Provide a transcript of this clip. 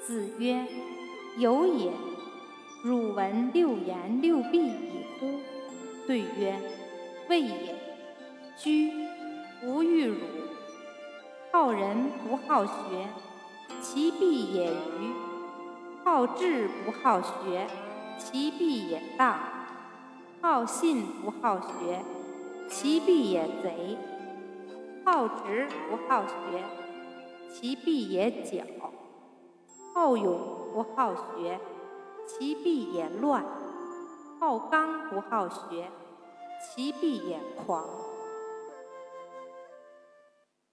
子曰：有也。汝闻六言六必矣乎？对曰：谓也。居，无欲辱。好人不好学，其必也愚；好智不好学，其必也荡；好信不好学，其必也贼；好直不好学，其必也矫；好勇不好学，其必也乱；好刚不好学，其必也狂。